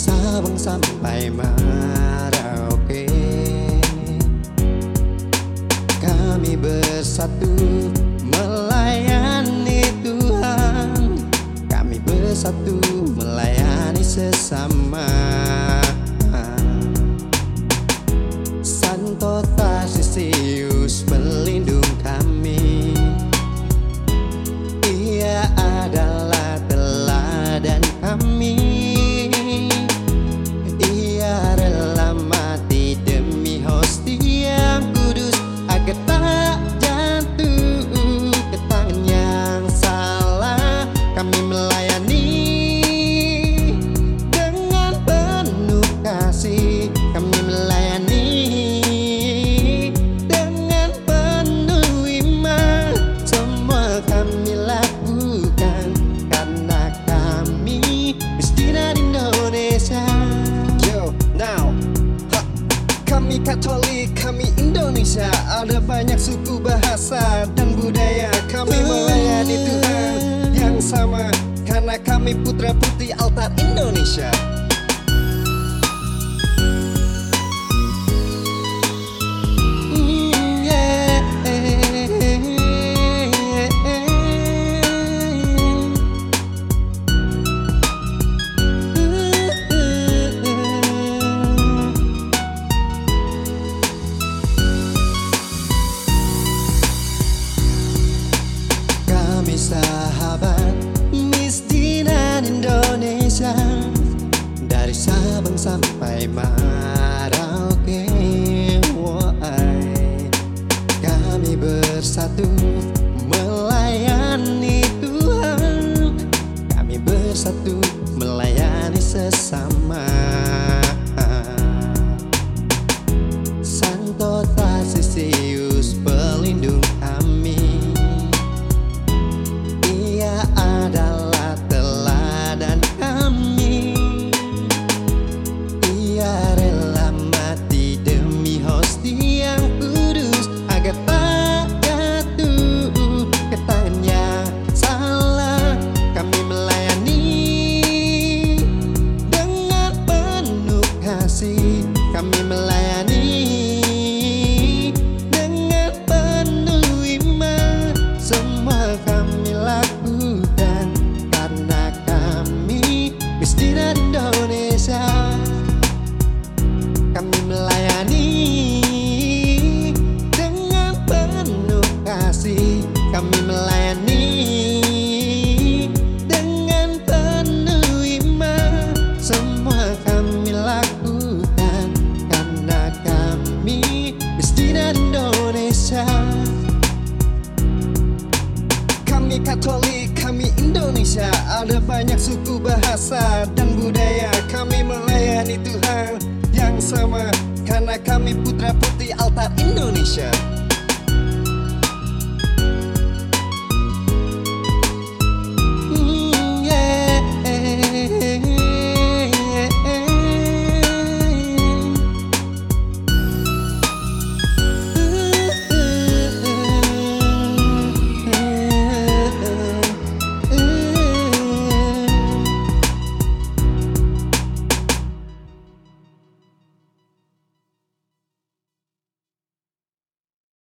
Sabang sampai Merauke, kami bersatu melayani Tuhan. Kami bersatu melayani sesama. Santo Tarsius pelindung kami, Ia adalah teladan kami. Ia rela mati demi hostia yang kudus agar tak jatuh ke tangan yang salah. Kami melayani dengan penuh kasih. Kami melayani dengan penuh iman. Semua kami lakukan karena kami Christian Indonesia. Now, kami Katolik, kami Indonesia. Ada banyak suku, bahasa, dan budaya. Kami melayani Tuhan yang sama karena kami putra putri altar Indonesia. Sahabat Misdinan Indonesia, dari Sabang sampai Merauke, kami bersatu melayani Tuhan. Kami bersatu melayani sesama.